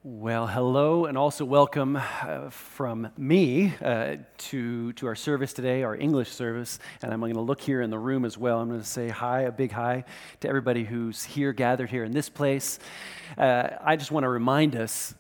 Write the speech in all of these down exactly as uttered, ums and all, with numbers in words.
Well, hello, and also welcome uh, from me uh, to to our service today, our English service. And I'm going to look here in the room as well. I'm going to say hi, a big hi to everybody who's here, gathered here in this place. Uh, I just want to remind us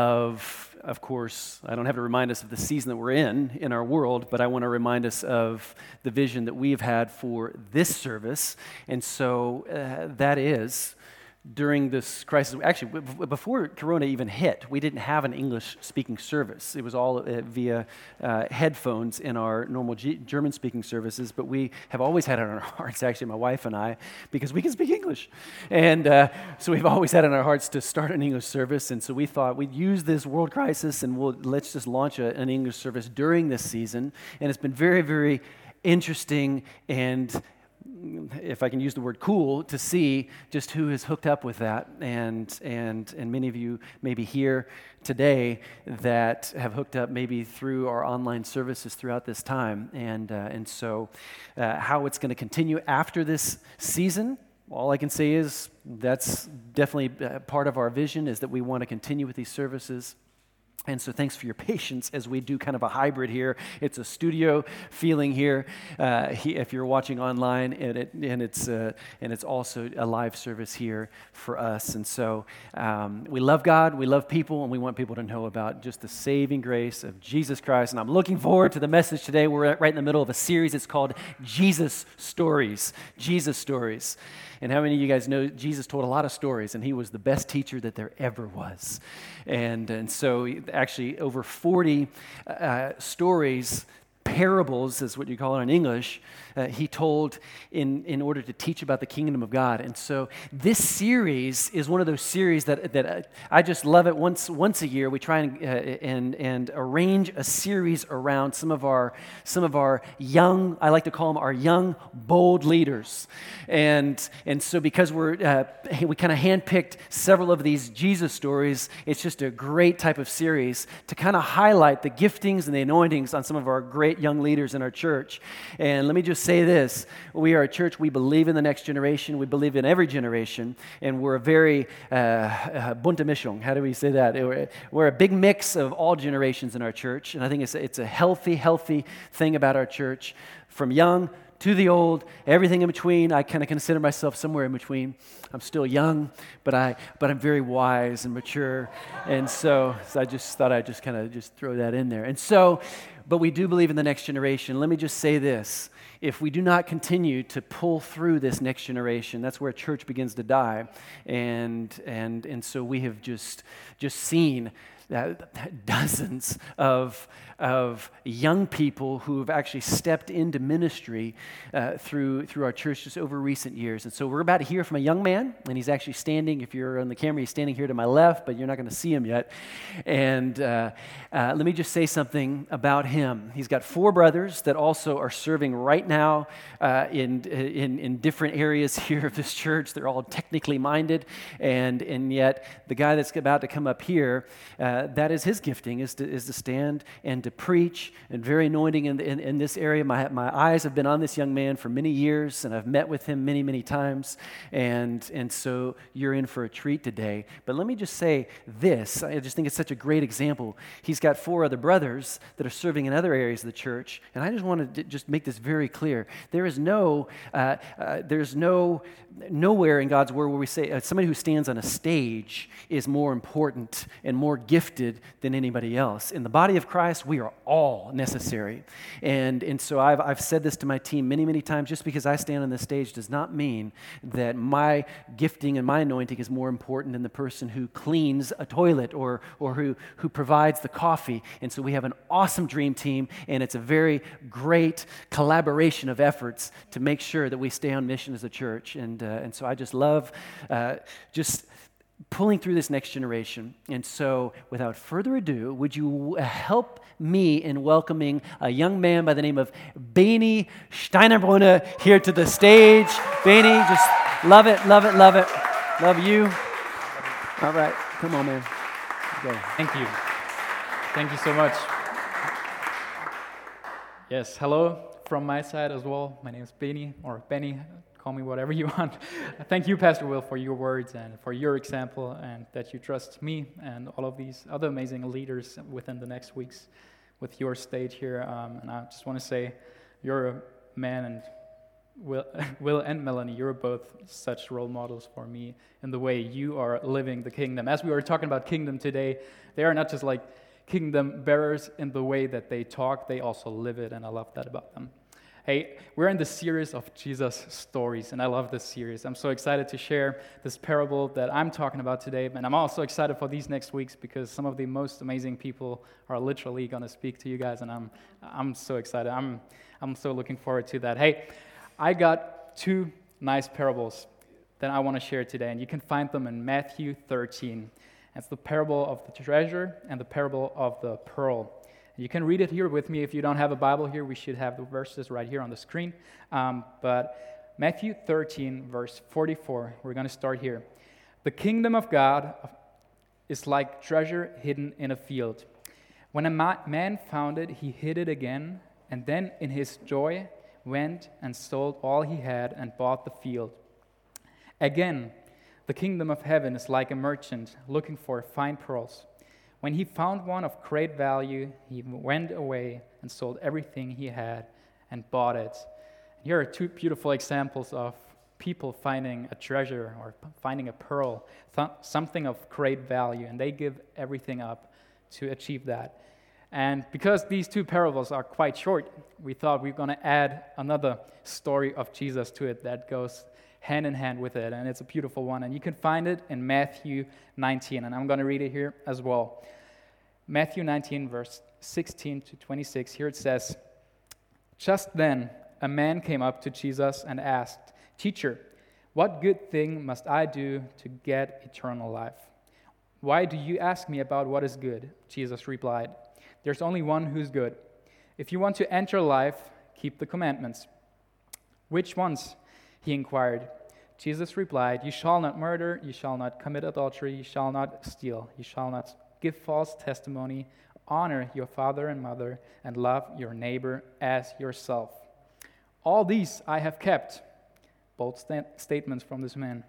of, of course, I don't have to remind us of the season that we're in in our world, but I want to remind us of the vision that we've had for this service. And so uh, that is, during this crisis, actually, b- before Corona even hit, we didn't have an English-speaking service. It was all uh, via uh, headphones in our normal G- German-speaking services, but we have always had it on our hearts, actually, my wife and I, because we can speak English. And uh, so we've always had it on our hearts to start an English service, and so we thought we'd use this world crisis and we'll, let's just launch a, an English service during this season. And it's been very, very interesting and, if I can use the word cool, to see just who is hooked up with that. And and and many of you maybe here today that have hooked up maybe through our online services throughout this time. And, uh, and so uh, how it's going to continue after this season, all I can say is that's definitely part of our vision, is that we want to continue with these services. And so thanks for your patience as we do kind of a hybrid here. It's a studio feeling here, uh, he, if you're watching online, and, it, and, it's, uh, and it's also a live service here for us. And so um, we love God, we love people, and we want people to know about just the saving grace of Jesus Christ. And I'm looking forward to the message today. We're right in the middle of a series. It's called Jesus Stories. Jesus Stories. And how many of you guys know Jesus told a lot of stories, and he was the best teacher that there ever was. And, and so actually over forty uh, stories, parables is what you call it in English, uh, he told in, in order to teach about the kingdom of God. And so this series is one of those series that, that I just love it. Once once a year, we try and, uh, and, and arrange a series around some of our some of our young, I like to call them our young, bold leaders. And, and so because we're uh, we kind of handpicked several of these Jesus stories, it's just a great type of series to kind of highlight the giftings and the anointings on some of our great young leaders in our church. And let me just say this: we are a church, we believe in the next generation, we believe in every generation, and we're a very uh, uh, bunte Mischung. How do we say that? We're, we're a big mix of all generations in our church, and I think it's a, it's a healthy, healthy thing about our church, from young to the old, everything in between. I kind of consider myself somewhere in between. I'm still young, but I but I'm very wise and mature, and so, so I just thought I'd just kind of just throw that in there. And so, but we do believe in the next generation. Let me just say this: if we do not continue to pull through this next generation, that's where a church begins to die. And and and so we have just just seen that dozens of of young people who have actually stepped into ministry uh, through through our church just over recent years. And so we're about to hear from a young man, and he's actually standing, if you're on the camera, he's standing here to my left, but you're not going to see him yet. And uh, uh, let me just say something about him. He's got four brothers that also are serving right now uh, in, in in different areas here of this church. They're all technically minded, and and yet the guy that's about to come up here, uh, that is his gifting, is to is to stand and to preach, and very anointing in, in, in this area. My my eyes have been on this young man for many years, and I've met with him many, many times, and and so you're in for a treat today. But let me just say this, I just think it's such a great example. He's got four other brothers that are serving in other areas of the church, and I just wanted to just make this very clear. There is no, uh, uh, there's no, nowhere in God's word where we say uh, somebody who stands on a stage is more important and more gifted than anybody else. In the body of Christ, we are all necessary. And and so I've I've said this to my team many, many times: just because I stand on the stage does not mean that my gifting and my anointing is more important than the person who cleans a toilet or or who, who provides the coffee. And so we have an awesome dream team, and it's a very great collaboration of efforts to make sure that we stay on mission as a church. And, uh, and so I just love uh, just pulling through this next generation. And so without further ado, would you help me in welcoming a young man by the name of Benny Steinerbrunner here to the stage. Benny, just love it, love it, love it. Love you. All right, come on, man. Go. Thank you. Thank you so much. Yes, hello from my side as well. My name is Benny, or Benny. call me whatever you want. Thank you, Pastor Will, for your words and for your example, and that you trust me and all of these other amazing leaders within the next weeks with your stage here. Um, and I just want to say, you're a man, and Will, Will and Melanie, you're both such role models for me in the way you are living the kingdom. As we were talking about kingdom today, they are not just like kingdom bearers in the way that they talk, they also live it, and I love that about them. Hey, we're in the series of Jesus stories, and I love this series. I'm so excited to share this parable that I'm talking about today, and I'm also excited for these next weeks because some of the most amazing people are literally going to speak to you guys, and I'm I'm so excited. I'm I'm so looking forward to that. Hey, I got two nice parables that I want to share today, and you can find them in Matthew thirteen. It's the parable of the treasure and the parable of the pearl. You can read it here with me. If you don't have a Bible here, we should have the verses right here on the screen. Um, but Matthew thirteen, verse forty-four, we're going to start here. The kingdom of God is like treasure hidden in a field. When a ma- man found it, he hid it again, and then in his joy went and sold all he had and bought the field. Again, the kingdom of heaven is like a merchant looking for fine pearls. When he found one of great value, he went away and sold everything he had and bought it. Here are two beautiful examples of people finding a treasure or finding a pearl, th- something of great value, and they give everything up to achieve that. And because these two parables are quite short, we thought we were going to add another story of Jesus to it that goes hand in hand with it, and it's a beautiful one. And you can find it in Matthew nineteen, and I'm going to read it here as well. Matthew nineteen, verse sixteen to twenty-six, here it says, "Just then a man came up to Jesus and asked, 'Teacher, what good thing must I do to get eternal life?' 'Why do you ask me about what is good?' Jesus replied. 'There's only one who's good. If you want to enter life, keep the commandments.' 'Which ones?' he inquired. Jesus replied, 'You shall not murder, you shall not commit adultery, you shall not steal, you shall not give false testimony, honor your father and mother, and love your neighbor as yourself. All these I have kept.'" Bold sta- statements from this man.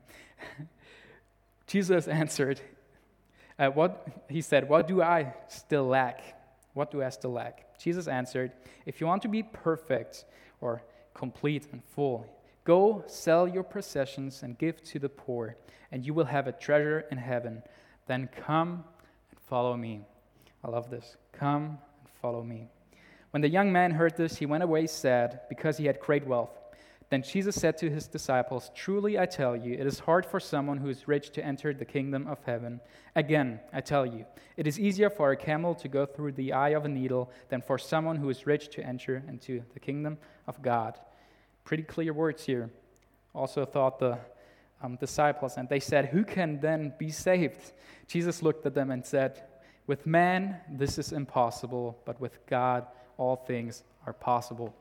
Jesus answered, uh, what he said, "What do I still lack? What do I still lack?" Jesus answered, "If you want to be perfect or complete and full, go sell your possessions and give to the poor, and you will have a treasure in heaven. Then come and follow me." I love this. Come and follow me. When the young man heard this, he went away sad because he had great wealth. Then Jesus said to his disciples, "Truly I tell you, it is hard for someone who is rich to enter the kingdom of heaven. Again, I tell you, it is easier for a camel to go through the eye of a needle than for someone who is rich to enter into the kingdom of God." Pretty clear words here. Also thought the um, disciples, and they said, "Who can then be saved?" Jesus looked at them and said, "With man this is impossible, but with God all things are possible."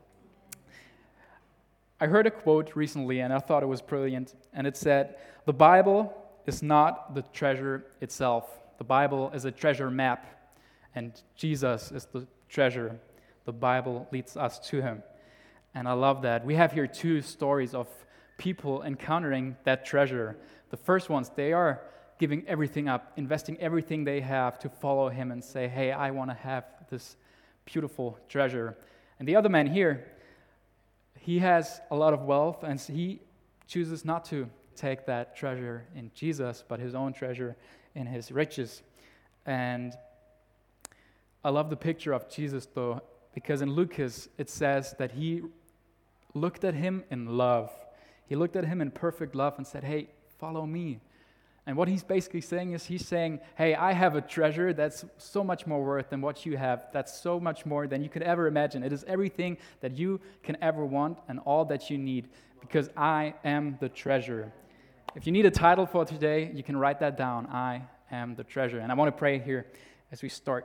I heard a quote recently, and I thought it was brilliant, and it said, "The Bible is not the treasure itself. The Bible is a treasure map, and Jesus is the treasure. The Bible leads us to him." And I love that. We have here two stories of people encountering that treasure. The first ones, they are giving everything up, investing everything they have to follow him and say, "Hey, I want to have this beautiful treasure." And the other man here, he has a lot of wealth, and he chooses not to take that treasure in Jesus, but his own treasure in his riches. And I love the picture of Jesus, though, because in Lucas, it says that he looked at him in love. He looked at him in perfect love and said, "Hey, follow me." And what he's basically saying is he's saying, "Hey, I have a treasure that's so much more worth than what you have. That's so much more than you could ever imagine. It is everything that you can ever want and all that you need, because I am the treasure." If you need a title for today, you can write that down. I am the treasure. And I want to pray here as we start.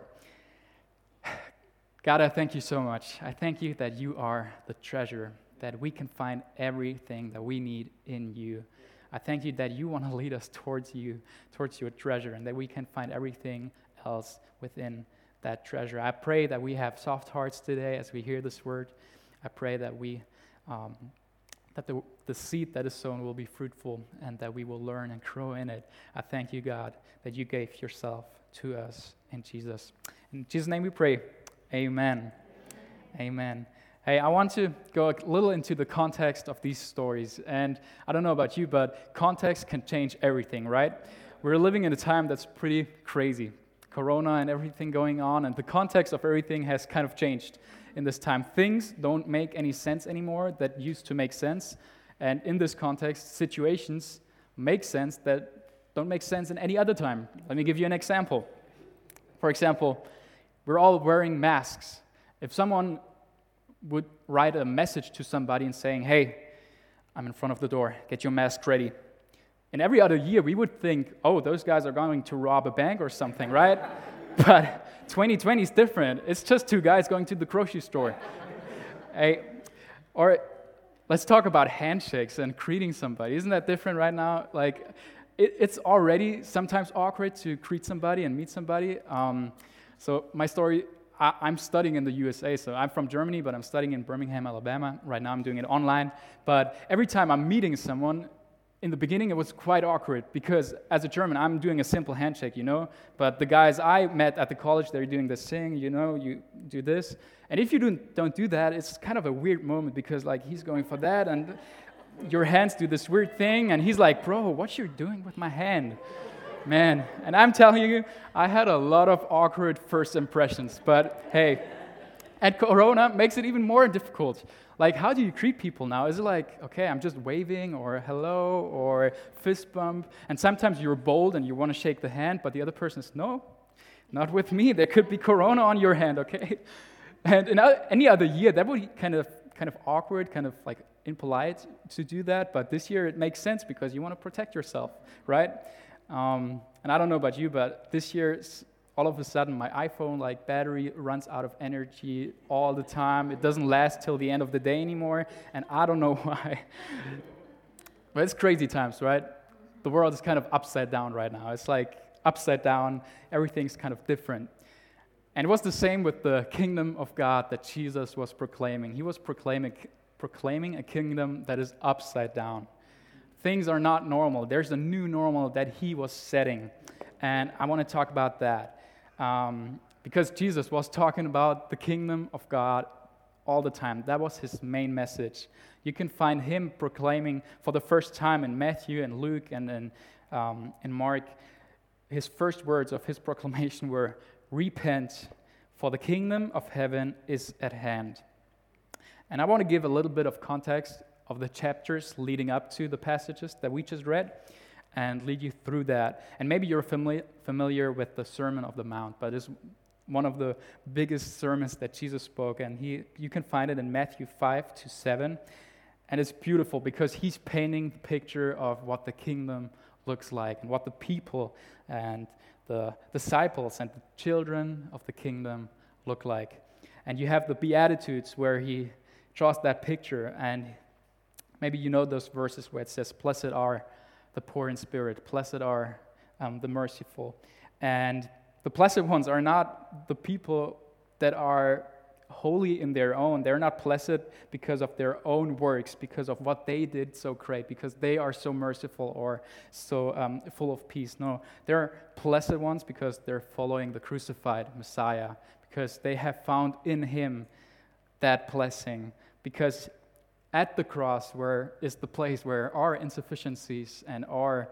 God, I thank you so much. I thank you that you are the treasure, that we can find everything that we need in you. I thank you that you want to lead us towards you, towards your treasure, and that we can find everything else within that treasure. I pray that we have soft hearts today as we hear this word. I pray that we, um, that the the seed that is sown will be fruitful and that we will learn and grow in it. I thank you, God, that you gave yourself to us in Jesus. In Jesus' name we pray. Amen. Amen. Hey, I want to go a little into the context of these stories. And I don't know about you, but context can change everything, right? We're living in a time that's pretty crazy. Corona and everything going on, and the context of everything has kind of changed in this time. Things don't make any sense anymore that used to make sense. And in this context, situations make sense that don't make sense in any other time. Let me give you an example. For example, we're all wearing masks. If someone would write a message to somebody and saying, hey, I'm in front of the door, get your mask ready. In every other year, we would think, oh, those guys are going to rob a bank or something, right? But twenty twenty is different. It's just two guys going to the grocery store. Hey, or let's talk about handshakes and greeting somebody. Isn't that different right now? Like, it, it's already sometimes awkward to greet somebody and meet somebody. Um, so my story, I, I'm studying in the U S A. So I'm from Germany, but I'm studying in Birmingham, Alabama. Right now I'm doing it online. But every time I'm meeting someone, in the beginning, it was quite awkward because as a German, I'm doing a simple handshake, you know, but the guys I met at the college, they're doing this thing, you know, you do this. And if you don't, don't do that, it's kind of a weird moment because, like, he's going for that and your hands do this weird thing and he's like, bro, what you doing with my hand? Man, and I'm telling you, I had a lot of awkward first impressions, but hey, and Corona makes it even more difficult. Like, how do you greet people now? Is it like, okay, I'm just waving or hello or fist bump? And sometimes you're bold and you want to shake the hand, but the other person says, no, not with me. There could be Corona on your hand, okay? And in any other year, that would be kind of kind of awkward, kind of like impolite to do that. But this year it makes sense because you want to protect yourself, right? Um, and I don't know about you, but this year, all of a sudden, my iPhone, like, battery runs out of energy all the time. It doesn't last till the end of the day anymore, and I don't know why. But it's crazy times, right? The world is kind of upside down right now. It's like upside down. Everything's kind of different. And it was the same with the kingdom of God that Jesus was proclaiming. He was proclaiming, proclaiming a kingdom that is upside down. Things are not normal. There's a new normal that he was setting, and I want to talk about that. Um, because Jesus was talking about the kingdom of God all the time. That was his main message. You can find him proclaiming for the first time in Matthew and Luke and in, um, in Mark. His first words of his proclamation were, repent, for the kingdom of heaven is at hand. And I want to give a little bit of context of the chapters leading up to the passages that we just read, and lead you through that. And maybe you're familiar familiar with the Sermon of the Mount, but it's one of the biggest sermons that Jesus spoke, and he you can find it in Matthew five to seven. And it's beautiful because he's painting the picture of what the kingdom looks like and what the people and the disciples and the children of the kingdom look like. And you have the Beatitudes where he draws that picture, and maybe you know those verses where it says, blessed are the poor in spirit, blessed are um, the merciful. And the blessed ones are not the people that are holy in their own. They're not blessed because of their own works, because of what they did so great, because they are so merciful or so um, full of peace. No, they're blessed ones because they're following the crucified Messiah, because they have found in him that blessing, because at the cross where is the place where our insufficiencies and our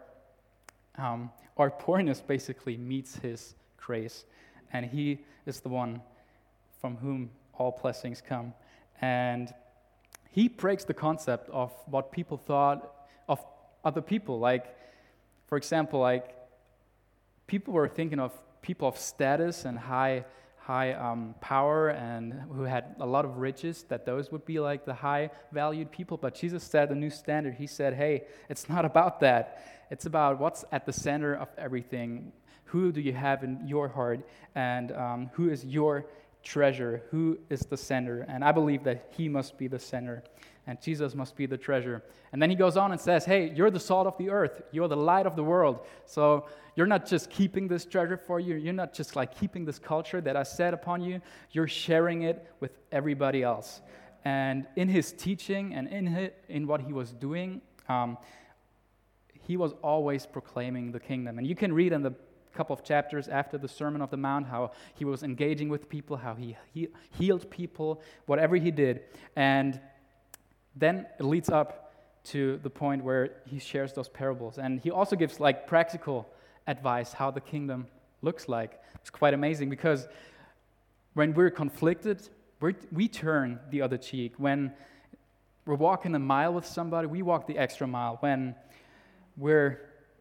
um, our poorness basically meets his grace. And he is the one from whom all blessings come. And he breaks the concept of what people thought of other people. Like, for example, like people were thinking of people of status and high high um, power and who had a lot of riches, that those would be like the high valued people. But Jesus set a new standard. He said, hey, it's not about that. It's about what's at the center of everything. Who do you have in your heart, and um, who is your treasure? Who is the center? And I believe that he must be the center, and Jesus must be the treasure. And then he goes on and says, hey, you're the salt of the earth. You're the light of the world. So you're not just keeping this treasure for you. You're not just like keeping this culture that I set upon you. You're sharing it with everybody else. And in his teaching and in his, in what he was doing, um, he was always proclaiming the kingdom. And you can read in the couple of chapters after the Sermon on the Mount how he was engaging with people, how he, he healed people, whatever he did. And then it leads up to the point where he shares those parables. And he also gives like practical advice how the kingdom looks like. It's quite amazing because when we're conflicted, we're, we turn the other cheek. When we're walking a mile with somebody, we walk the extra mile. When we're,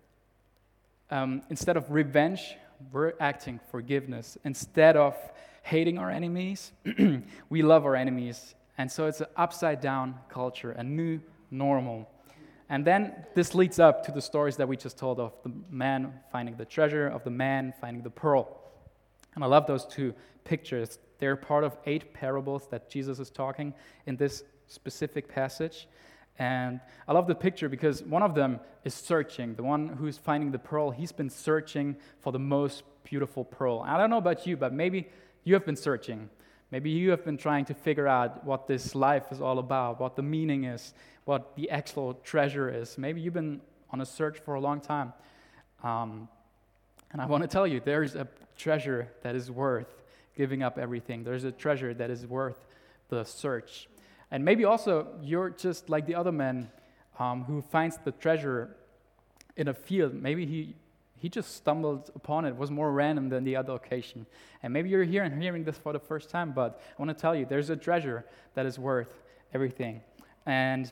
um, instead of revenge, we're acting forgiveness. Instead of hating our enemies, we love our enemies. And so it's an upside down culture, a new normal. And then this leads up to the stories that we just told of the man finding the treasure, of the man finding the pearl. And I love those two pictures. They're part of eight parables that Jesus is talking in this specific passage. And I love the picture because one of them is searching. The one who's finding the pearl, he's been searching for the most beautiful pearl. I don't know about you, but maybe you have been searching. Maybe you have been trying to figure out what this life is all about, what the meaning is, what the actual treasure is. Maybe you've been on a search for a long time. Um, and I want to tell you, there's a treasure that is worth giving up everything. There's a treasure that is worth the search. And maybe also you're just like the other man um, who finds the treasure in a field. Maybe he he just stumbled upon it. It was more random than the other occasion. And maybe you're here and hearing this for the first time, but I want to tell you, there's a treasure that is worth everything. And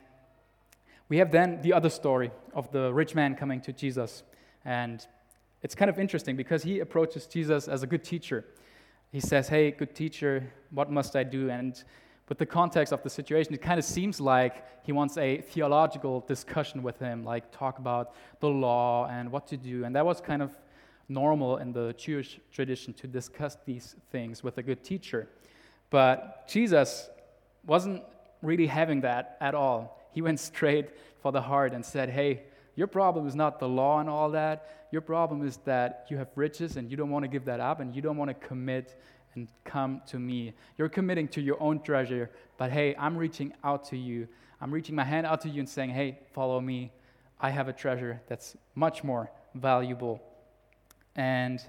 we have then the other story of the rich man coming to Jesus. And it's kind of interesting because he approaches Jesus as a good teacher. He says, hey, good teacher, what must I do? And with the context of the situation, it kind of seems like he wants a theological discussion with him, like talk about the law and what to do. And that was kind of normal in the Jewish tradition to discuss these things with a good teacher. But Jesus wasn't really having that at all. He went straight for the heart and said, hey, your problem is not the law and all that. Your problem is that you have riches and you don't want to give that up and you don't want to commit and come to me. You're committing to your own treasure, but hey, I'm reaching out to you. I'm reaching my hand out to you and saying, hey, follow me. I have a treasure that's much more valuable. And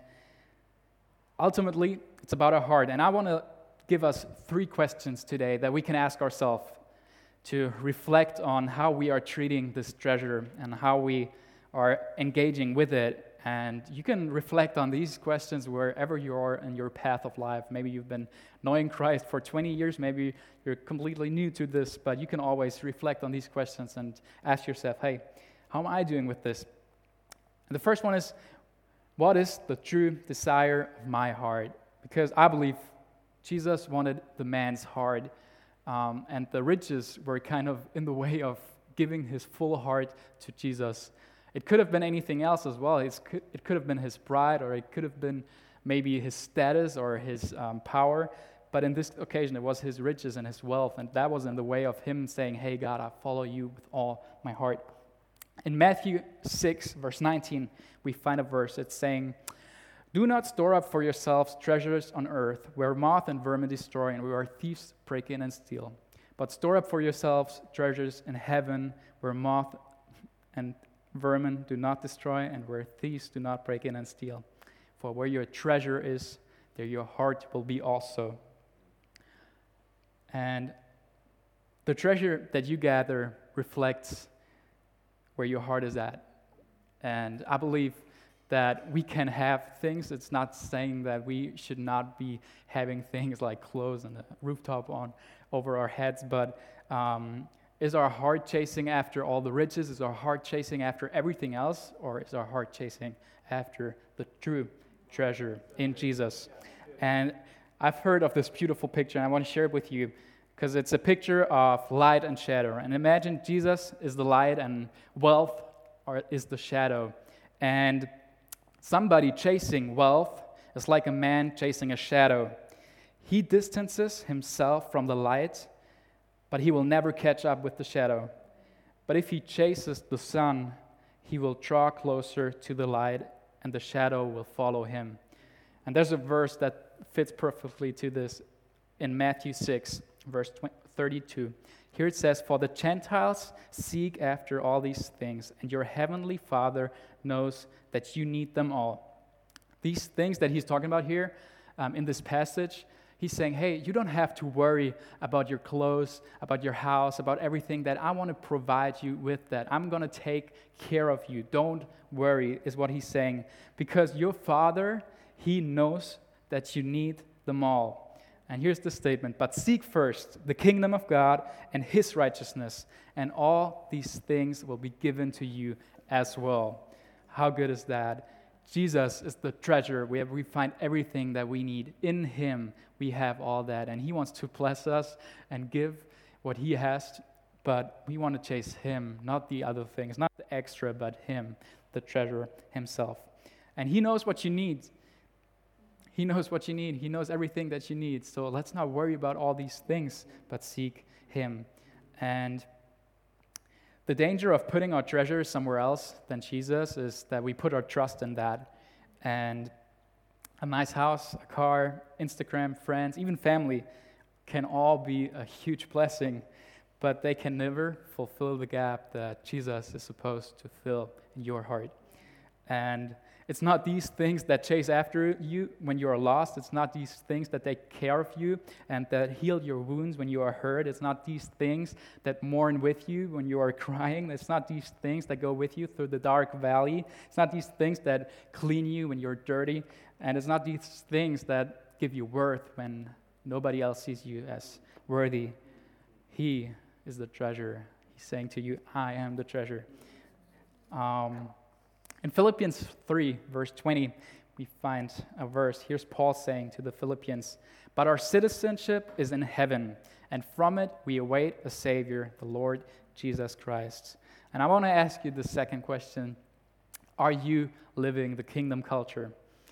ultimately, it's about our heart. And I want to give us three questions today that we can ask ourselves to reflect on how we are treating this treasure and how we are engaging with it. And you can reflect on these questions wherever you are in your path of life. Maybe you've been knowing Christ for twenty years. Maybe you're completely new to this, but you can always reflect on these questions and ask yourself, hey, how am I doing with this? And the first one is, what is the true desire of my heart? Because I believe Jesus wanted the man's heart, um, and the riches were kind of in the way of giving his full heart to Jesus. It could have been anything else as well. It's, it could have been his pride, or it could have been maybe his status or his um, power. But in this occasion, it was his riches and his wealth, and that was in the way of him saying, hey, God, I follow you with all my heart. In Matthew six, verse nineteen, we find a verse. It's saying, do not store up for yourselves treasures on earth, where moth and vermin destroy, and where thieves break in and steal. But store up for yourselves treasures in heaven, where moth and vermin do not destroy, and where thieves do not break in and steal. For where your treasure is, there your heart will be also. And the treasure that you gather reflects where your heart is at. And I believe that we can have things. It's not saying that we should not be having things like clothes and a rooftop on over our heads, but um, is our heart chasing after all the riches? Is our heart chasing after everything else? Or is our heart chasing after the true treasure in Jesus? And I've heard of this beautiful picture, and I want to share it with you because it's a picture of light and shadow. And imagine Jesus is the light and wealth is the shadow. And somebody chasing wealth is like a man chasing a shadow. He distances himself from the light, but he will never catch up with the shadow. But if he chases the sun, he will draw closer to the light, and the shadow will follow him. And there's a verse that fits perfectly to this in Matthew six, verse thirty-two. Here it says, "For the Gentiles seek after all these things, and your heavenly Father knows that you need them all." These things that he's talking about here um, in this passage, he's saying, hey, you don't have to worry about your clothes, about your house, about everything that I want to provide you with that. I'm going to take care of you. Don't worry, is what he's saying. Because your Father, he knows that you need them all. And here's the statement, "But seek first the kingdom of God and his righteousness, and all these things will be given to you as well." How good is that? Jesus is the treasure. We have, we find everything that we need. In him, we have all that. And he wants to bless us and give what he has, but we want to chase him, not the other things, not the extra, but him, the treasure himself. And he knows what you need. He knows what you need. He knows everything that you need. So let's not worry about all these things, but seek him. And the danger of putting our treasure somewhere else than Jesus is that we put our trust in that. And a nice house, a car, Instagram, friends, even family can all be a huge blessing, but they can never fulfill the gap that Jesus is supposed to fill in your heart. And it's not these things that chase after you when you are lost. It's not these things that take care of you and that heal your wounds when you are hurt. It's not these things that mourn with you when you are crying. It's not these things that go with you through the dark valley. It's not these things that clean you when you're dirty. And it's not these things that give you worth when nobody else sees you as worthy. He is the treasure. He's saying to you, I am the treasure. Um... In Philippians three, verse twenty, we find a verse. Here's Paul saying to the Philippians, "But our citizenship is in heaven, and from it we await a Savior, the Lord Jesus Christ." And I want to ask you the second question. Are you living the kingdom culture?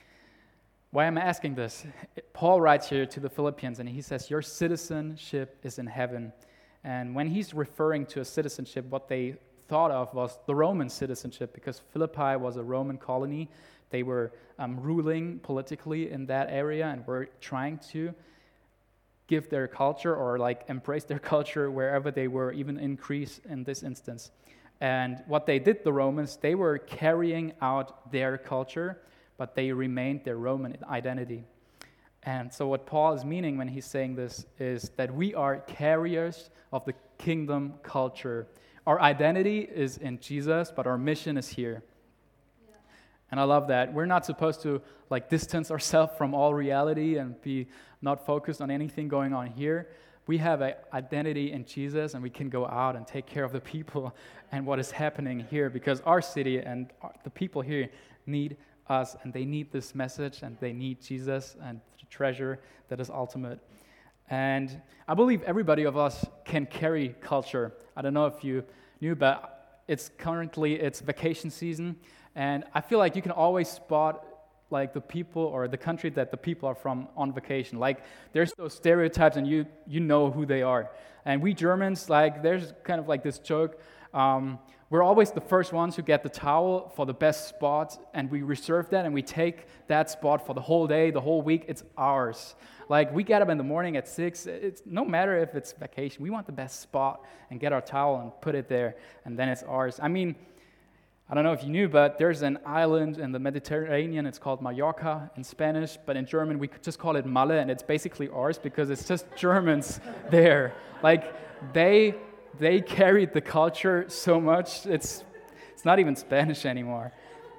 Why am I asking this? Paul writes here to the Philippians, and he says, your citizenship is in heaven. And when he's referring to a citizenship, what they thought of was the Roman citizenship, because Philippi was a Roman colony. They were um, ruling politically in that area and were trying to give their culture or like embrace their culture wherever they were, even increase in this instance. And what they did, the Romans, they were carrying out their culture, but they remained their Roman identity. And so what Paul is meaning when he's saying this is that we are carriers of the kingdom culture. Our identity is in Jesus, but our mission is here. Yeah. And I love that. We're not supposed to like distance ourselves from all reality and be not focused on anything going on here. We have an identity in Jesus, and we can go out and take care of the people and what is happening here, because our city and the people here need us, and they need this message, and they need Jesus and the treasure that is ultimate. And I believe everybody of us can carry culture. I don't know if you knew, but it's currently it's vacation season, and I feel like you can always spot like the people or the country that the people are from on vacation. Like there's those stereotypes, and you you know who they are. And we Germans, like there's kind of like this joke. Um, we're always the first ones who get the towel for the best spot, and we reserve that, and we take that spot for the whole day, the whole week. It's ours. Like we get up in the morning at six. It's no matter if it's vacation. We want the best spot and get our towel and put it there, and then it's ours. I mean, I don't know if you knew, but there's an island in the Mediterranean. It's called Mallorca in Spanish, but in German we could just call it Malle, and it's basically ours because it's just Germans there. Like they they carried the culture so much. It's it's not even Spanish anymore.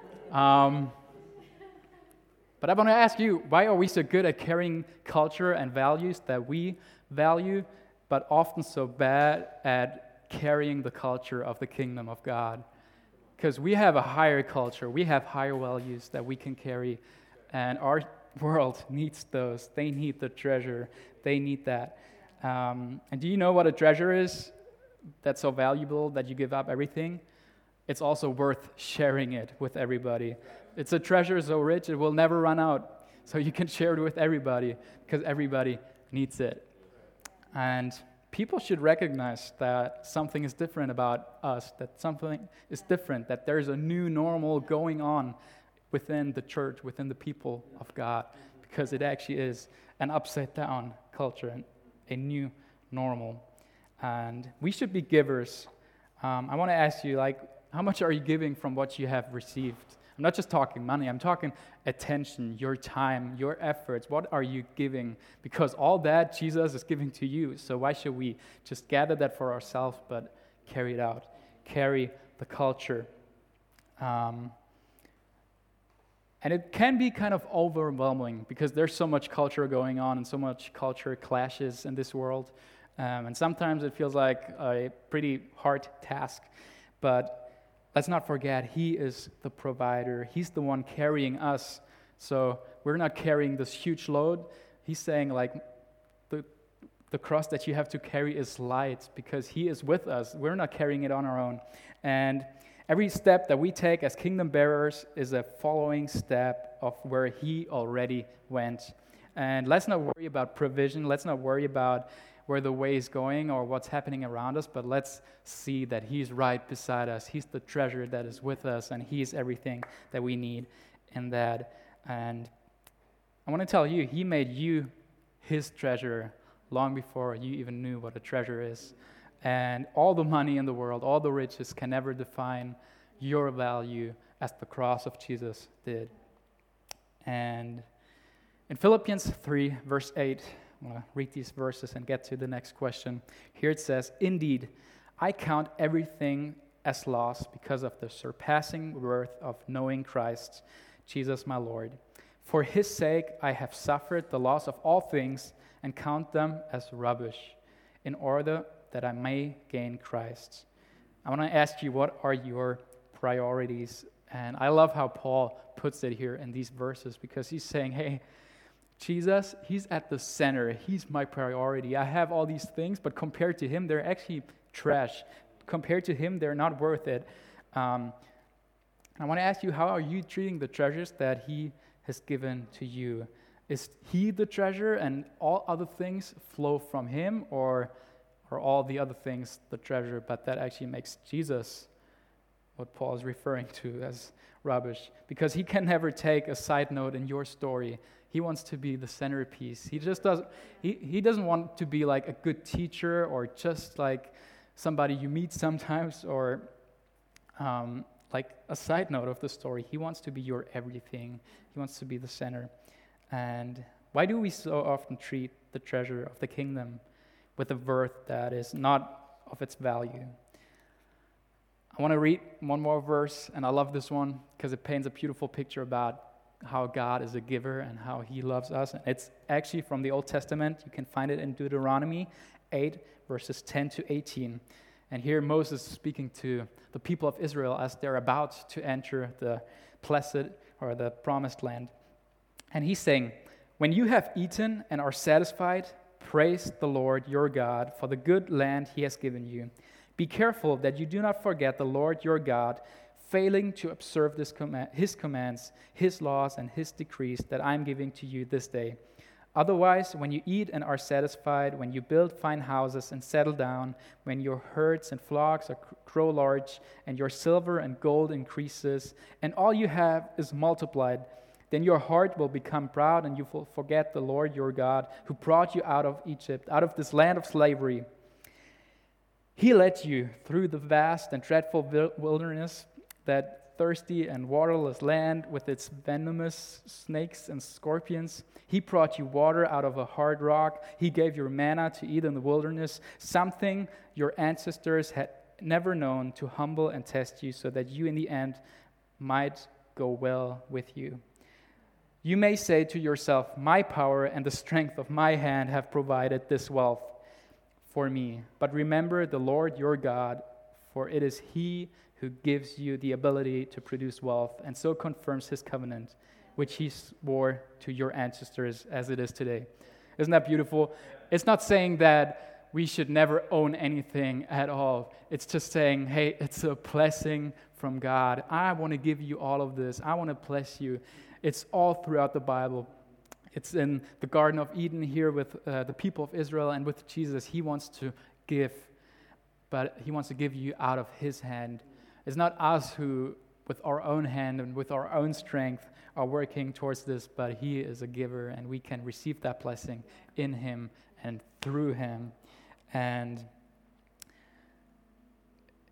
Um, but I want to ask you, why are we so good at carrying culture and values that we value, but often so bad at carrying the culture of the kingdom of God? Because we have a higher culture, we have higher values that we can carry, and our world needs those. They need the treasure. They need that. Um, and do you know what a treasure is that's so valuable that you give up everything? It's also worth sharing it with everybody. It's a treasure so rich it will never run out. So you can share it with everybody because everybody needs it. And people should recognize that something is different about us, that something is different, that there's a new normal going on within the church, within the people of God, because it actually is an upside-down culture and a new normal. and we should be givers. Um, I want to ask you, like, how much are you giving from what you have received? I'm not just talking money, I'm talking attention, your time, your efforts. What are you giving? Because all that Jesus is giving to you. So why should we just gather that for ourselves, but carry it out, carry the culture? Um, and it can be kind of overwhelming because there's so much culture going on and so much culture clashes in this world. Um, and sometimes it feels like a pretty hard task. But let's not forget, He is the provider. He's the one carrying us. So we're not carrying this huge load. He's saying, like, the, the cross that you have to carry is light because He is with us. We're not carrying it on our own. And every step that we take as kingdom bearers is a following step of where He already went. And let's not worry about provision. Let's not worry about where the way is going or what's happening around us, but let's see that He's right beside us. He's the treasure that is with us, and He's everything that we need in that. And I want to tell you, He made you His treasure long before you even knew what a treasure is. And all the money in the world, all the riches can never define your value as the cross of Jesus did. And in Philippians three, verse eight, I'm going to read these verses and get to the next question. Here it says, "Indeed, I count everything as loss because of the surpassing worth of knowing Christ, Jesus my Lord. For His sake I have suffered the loss of all things and count them as rubbish, in order that I may gain Christ." I want to ask you, what are your priorities? And I love how Paul puts it here in these verses because he's saying, hey, Jesus, He's at the center. He's my priority. I have all these things, but compared to Him, they're actually trash. Compared to Him, they're not worth it. Um, I want to ask you, how are you treating the treasures that He has given to you? Is He the treasure and all other things flow from Him, or are all the other things the treasure, but that actually makes Jesus what Paul is referring to as rubbish? Because He can never take a side note in your story. He wants to be the centerpiece. He just doesn't, he, he doesn't want to be like a good teacher or just like somebody you meet sometimes or um, like a side note of the story. He wants to be your everything. He wants to be the center. And why do we so often treat the treasure of the kingdom with a worth that is not of its value? I want to read one more verse, and I love this one because it paints a beautiful picture about how God is a giver and how He loves us. And it's actually from the Old Testament. You can find it in Deuteronomy eight, verses ten to eighteen. And here Moses is speaking to the people of Israel as they're about to enter the blessed or the promised land. And he's saying, "When you have eaten and are satisfied, praise the Lord your God for the good land He has given you. Be careful that you do not forget the Lord your God, failing to observe this command, His commands, His laws, and His decrees that I am giving to you this day. Otherwise, when you eat and are satisfied, when you build fine houses and settle down, when your herds and flocks are, grow large, and your silver and gold increases, and all you have is multiplied, then your heart will become proud, and you will forget the Lord your God, who brought you out of Egypt, out of this land of slavery. He led you through the vast and dreadful wilderness, that thirsty and waterless land with its venomous snakes and scorpions. He brought you water out of a hard rock. He gave you manna to eat in the wilderness, something your ancestors had never known, to humble and test you, so that you in the end might go well with you. You may say to yourself, my power and the strength of my hand have provided this wealth for me. But remember the Lord your God, for it is He who gives you the ability to produce wealth, and so confirms His covenant, which He swore to your ancestors as it is today." Isn't that beautiful? It's not saying that we should never own anything at all. It's just saying, hey, it's a blessing from God. I want to give you all of this. I want to bless you. It's all throughout the Bible. It's in the Garden of Eden here with uh, the people of Israel, and with Jesus. He wants to give, but He wants to give you out of His hand. It's not us who, with our own hand and with our own strength, are working towards this, but He is a giver, and we can receive that blessing in Him and through Him. And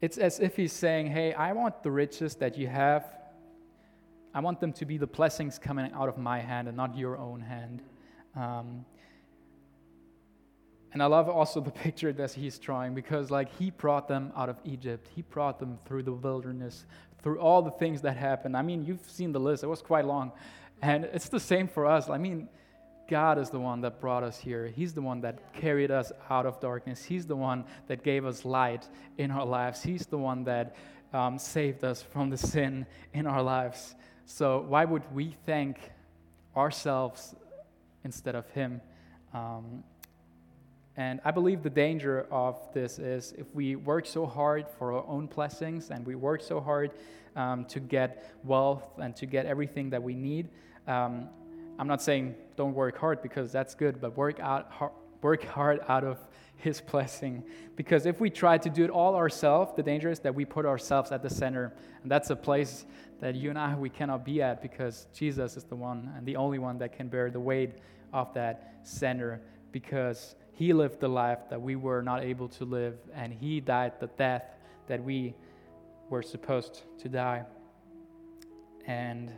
it's as if he's saying, hey, I want the riches that you have. I want them to be the blessings coming out of my hand and not your own hand. Um, and I love also the picture that he's drawing, because like he brought them out of Egypt. He brought them through the wilderness, through all the things that happened. I mean, you've seen the list. It was quite long. And it's the same for us. I mean, God is the one that brought us here. He's the one that carried us out of darkness. He's the one that gave us light in our lives. He's the one that um, saved us from the sin in our lives. So why would we thank ourselves instead of Him? Um, and I believe the danger of this is if we work so hard for our own blessings and we work so hard um, to get wealth and to get everything that we need. Um, I'm not saying don't work hard, because that's good, but work out hard, work hard out of His blessing. Because if we try to do it all ourselves, the danger is that we put ourselves at the center, and that's a place that you and I, we cannot be at, because Jesus is the one and the only one that can bear the weight of that center, because He lived the life that we were not able to live, and He died the death that we were supposed to die. And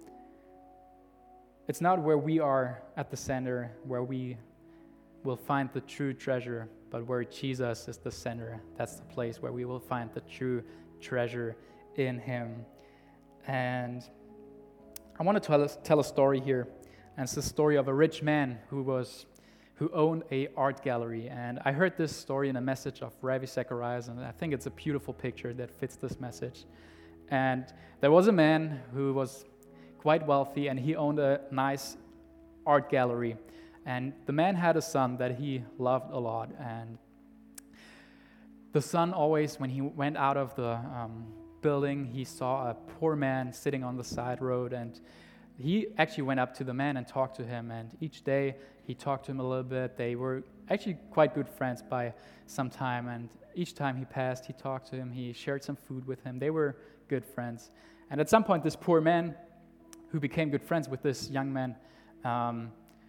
it's not where we are at the center where we will find the true treasure, but where Jesus is the center. That's the place where we will find the true treasure in Him. And I want to tell a, tell a story here, and it's the story of a rich man who was who owned a art gallery. And I heard this story in a message of Ravi Zacharias, and I think it's a beautiful picture that fits this message. And there was a man who was quite wealthy, and he owned a nice art gallery. And the man had a son that he loved a lot. And the son always, when he went out of the um, building, he saw a poor man sitting on the side road. And he actually went up to the man and talked to him. And each day he talked to him a little bit. They were actually quite good friends by some time. And each time he passed, he talked to him. He shared some food with him. They were good friends. And at some point, this poor man, who became good friends with this young man, um,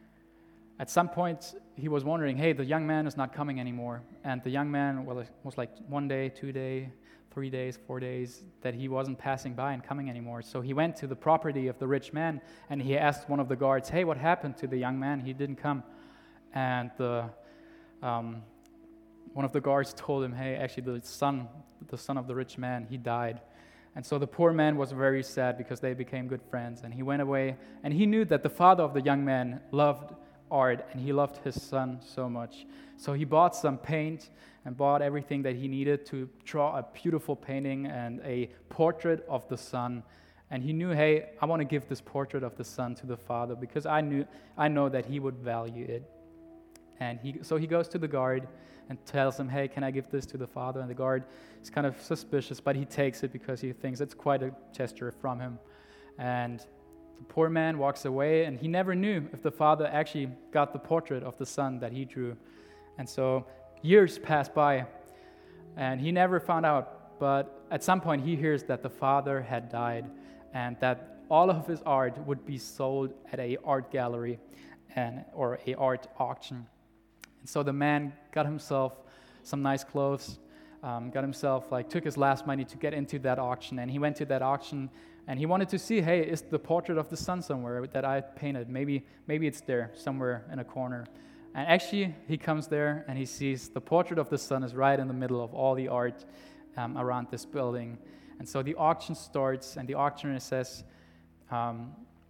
at some point, he was wondering, hey, the young man is not coming anymore. And the young man, well, it was like one day, two days, three days, four days, that he wasn't passing by and coming anymore. So he went to the property of the rich man, and he asked one of the guards, hey, what happened to the young man? He didn't come. And the um, one of the guards told him, hey, actually, the son, the son of the rich man, he died. And so the poor man was very sad, because they became good friends. And he went away, and he knew that the father of the young man loved art, and he loved his son so much. So he bought some paint and bought everything that he needed to draw a beautiful painting and a portrait of the son. And he knew, hey, I want to give this portrait of the son to the father, because I knew, I know that he would value it. And he, so he goes to the guard and tells him, hey, can I give this to the father? And the guard is kind of suspicious, but he takes it because he thinks it's quite a gesture from him. And the poor man walks away, and he never knew if the father actually got the portrait of the son that he drew. And so years pass by, and he never found out. But at some point, he hears that the father had died, and that all of his art would be sold at a art gallery and or a art auction. And so the man got himself some nice clothes, um, got himself, like, took his last money to get into that auction, and he went to that auction. And he wanted to see, hey, is the portrait of the son somewhere that I painted? Maybe maybe it's there somewhere in a corner. And actually, he comes there and he sees the portrait of the son is right in the middle of all the art um, around this building. And so the auction starts, and the auctioneer says, um,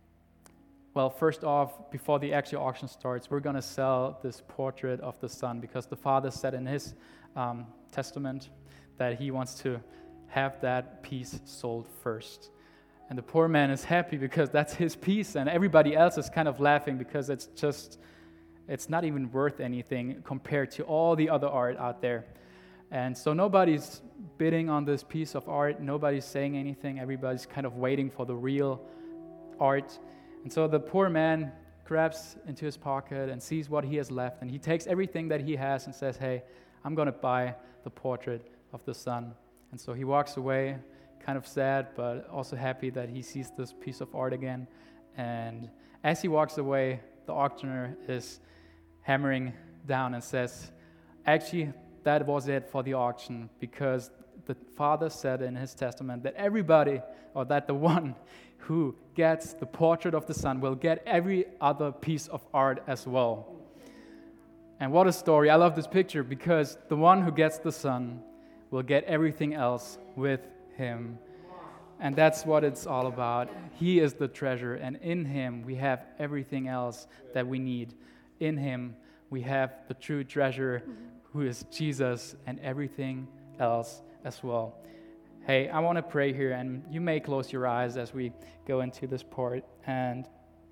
well, first off, before the actual auction starts, we're going to sell this portrait of the son, because the father said in his um, testament that he wants to have that piece sold first. And the poor man is happy because that's his piece, and everybody else is kind of laughing because it's just, it's not even worth anything compared to all the other art out there. And so nobody's bidding on this piece of art, nobody's saying anything, everybody's kind of waiting for the real art. And so the poor man grabs into his pocket and sees what he has left, and he takes everything that he has and says, hey, I'm going to buy the portrait of the son. And so he walks away, kind of sad, but also happy that he sees this piece of art again. And as he walks away, the auctioneer is hammering down and says, actually, that was it for the auction, because the Father said in his testament that everybody, or that the one who gets the portrait of the Son will get every other piece of art as well. And what a story. I love this picture because the one who gets the Son will get everything else with him. And that's what it's all about. He is the treasure, and in him we have everything else that we need. In him we have the true treasure, who is Jesus, and everything else as well. Hey, I want to pray here, and you may close your eyes as we go into this part. And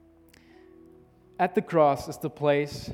at the cross is the place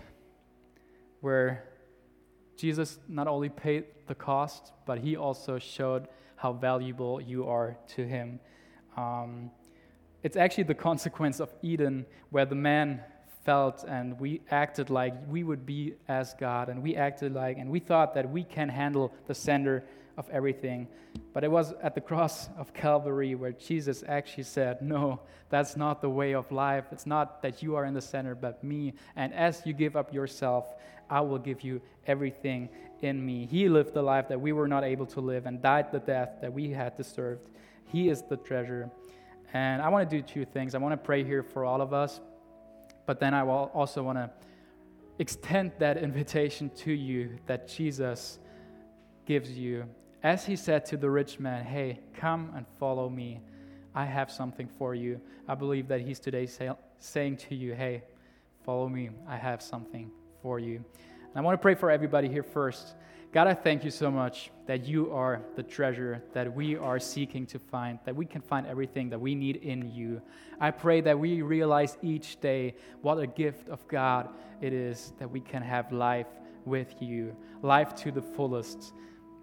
where Jesus not only paid the cost, but he also showed how valuable you are to him. Um, it's actually the consequence of Eden, where the man felt and we acted like we would be as God, and we acted like, and we thought that we can handle the center of everything. But it was at the cross of Calvary where Jesus actually said, no, that's not the way of life. It's not that you are in the center, but me. And as you give up yourself, I will give you everything in me. He lived the life that we were not able to live and died the death that we had deserved. He is the treasure. And I want to do two things. I want to pray here for all of us, but then I will also want to extend that invitation to you that Jesus gives you. As he said to the rich man, hey, come and follow me. I have something for you. I believe that he's today say, saying to you, hey, follow me. I have something for you. And I want to pray for everybody here first. God, I thank you so much that you are the treasure that we are seeking to find, that we can find everything that we need in you. I pray that we realize each day what a gift of God it is that we can have life with you, life to the fullest.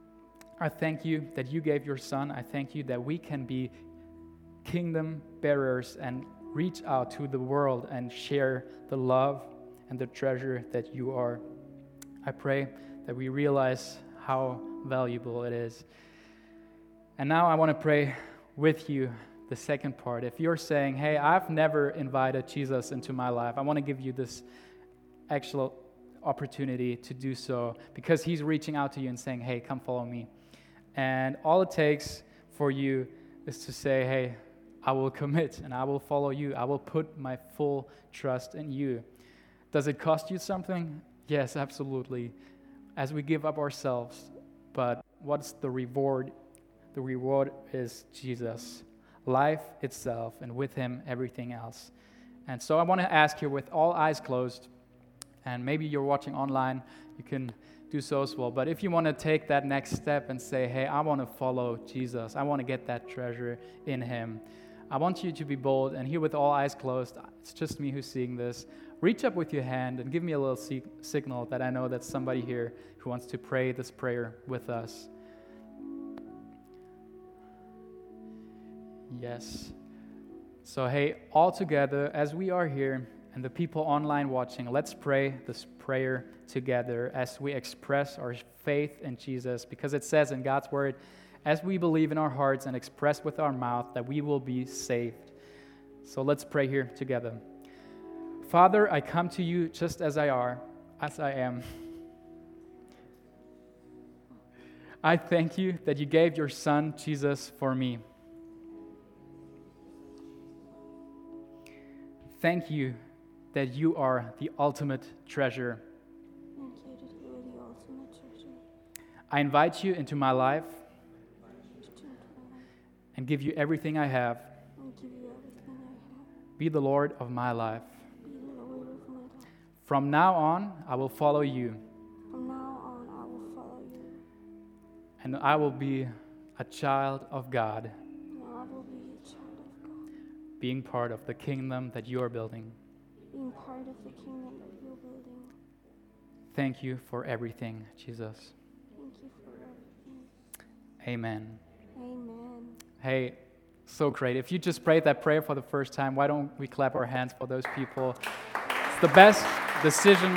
I thank you that you gave your Son. I thank you that we can be kingdom bearers and reach out to the world and share the love and the treasure that you are. I pray that we realize how valuable it is. And now I want to pray with you the second part. If you're saying, hey, I've never invited Jesus into my life, I want to give you this actual opportunity to do so, because he's reaching out to you and saying, hey, come follow me. And all it takes for you is to say, hey, I will commit and I will follow you. I will put my full trust in you. Does it cost you something? Yes, absolutely. As we give up ourselves. But what's the reward? The reward is Jesus, life itself, and with him, everything else. And so I want to ask you, with all eyes closed, and maybe you're watching online, you can do so as well. But if you want to take that next step and say, hey, I want to follow Jesus, I want to get that treasure in him, I want you to be bold. And here with all eyes closed, it's just me who's seeing this. Reach up with your hand and give me a little sig- signal that I know that's somebody here who wants to pray this prayer with us. Yes. So, hey, all together, as we are here, and the people online watching, let's pray this prayer together as we express our faith in Jesus, because it says in God's word, as we believe in our hearts and express with our mouth, that we will be saved. So let's pray here together. Father, I come to you just as I are, as I am. I thank you that you gave your Son, Jesus, for me. Thank you that you are the ultimate treasure. Thank you that you are the ultimate treasure. I invite you into my life Into my life and give you everything I have. and give you everything I have. Be the Lord of my life. Be the Lord of my life. From now on, I will follow you, From now on, I will follow you, and I will be a child of God, and I will be a child of God, being part of the kingdom that you are building. being part of the kingdom that you're building. Thank you for everything, Jesus. Thank you for everything. Amen. Amen. Hey, so great. If you just prayed that prayer for the first time, why don't we clap our hands for those people? It's the best decision.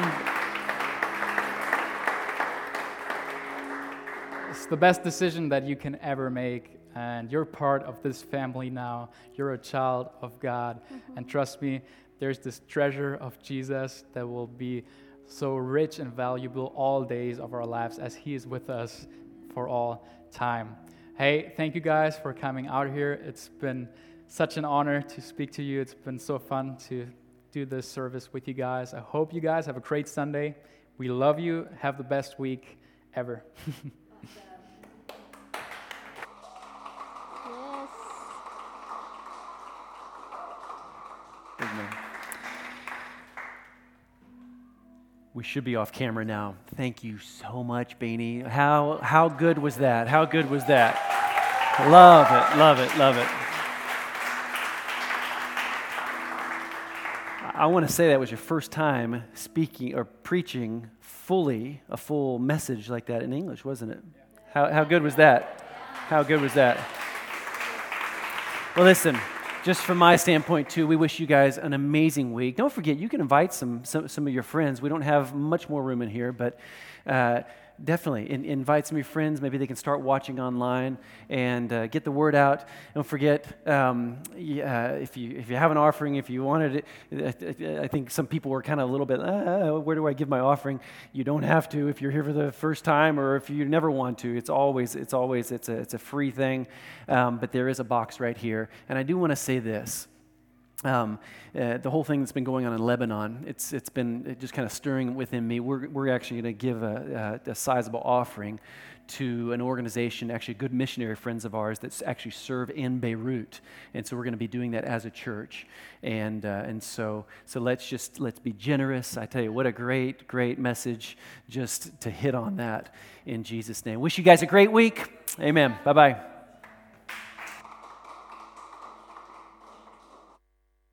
It's the best decision that you can ever make. And you're part of this family now. You're a child of God. Mm-hmm. And trust me, there's this treasure of Jesus that will be so rich and valuable all days of our lives as he is with us for all time. Hey, thank you guys for coming out here. It's been such an honor to speak to you. It's been so fun to do this service with you guys. I hope you guys have a great Sunday. We love you. Have the best week ever. Yes. Amen. We should be off camera now. Thank you so much, Bainey. How how good was that? How good was that? Love it, love it, love it. I want to say that was your first time speaking or preaching fully a full message like that in English, wasn't it? How how good was that? How good was that? Well, listen, just from my standpoint too, we wish you guys an amazing week. Don't forget, you can invite some some, some of your friends. We don't have much more room in here, but uh, definitely in, invite some of your friends. Maybe they can start watching online and uh, get the word out. Don't forget, um, yeah, if you if you have an offering, if you wanted it, I think some people were kind of a little bit, ah, where do I give my offering? You don't have to if you're here for the first time, or if you never want to. It's always it's always it's a it's a free thing, um, but there is a box right here. And I do want to say this. Um, uh, the whole thing that's been going on in Lebanon, it's it's been just kind of stirring within me. We're we're actually going to give a, a, a sizable offering to an organization, actually good missionary friends of ours that actually serve in Beirut, and so we're going to be doing that as a church. And uh, and so so let's just let's be generous. I tell you, what a great great message just to hit on that in Jesus' name. Wish you guys a great week. Amen. Bye bye.